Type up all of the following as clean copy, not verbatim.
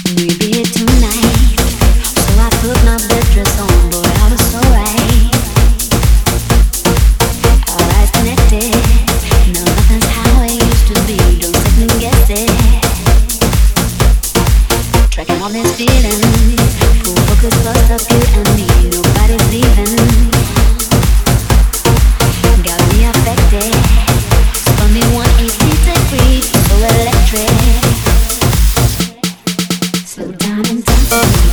We'd be here tonight, so I put my best dress on, boy, I was so right. Our eyes connected, no, nothing's how it used to be, don't second guess it. Tracking all this feeling, full focus, bust up you and me, nobody's leaving. Got me affected, spun me 180 degrees, so electric. Slow down and dance with me.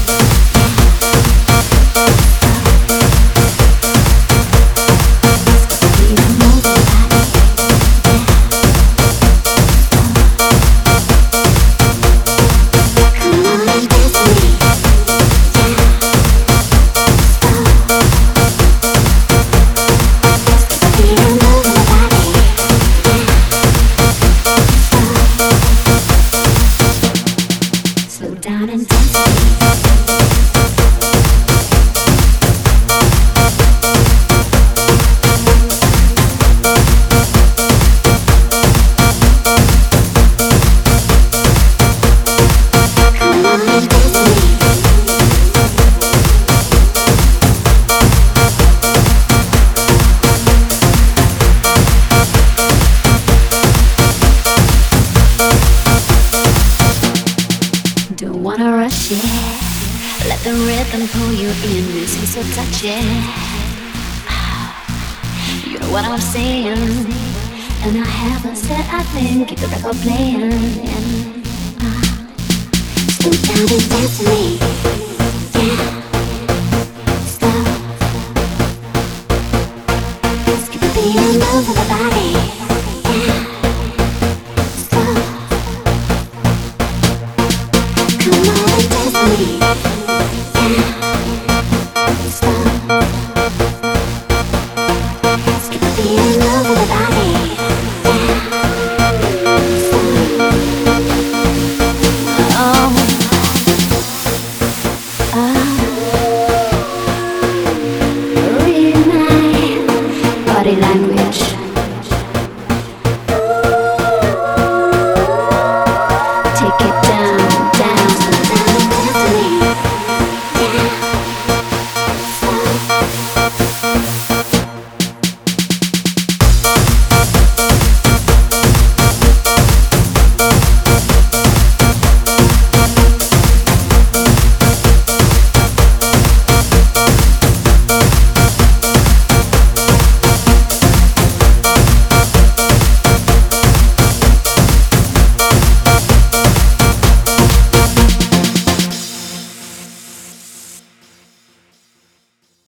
Down and dance with me. Come on and dance with me. Don't wanna rush it, let the rhythm pull you in, this is so touchy. You know what I'm saying, and I haven't said I think, keep the record playing. Slow down and dance with me, yeah. Slow. Let's keep the beat and move with the body, yeah. Slow. Come on and dance with me.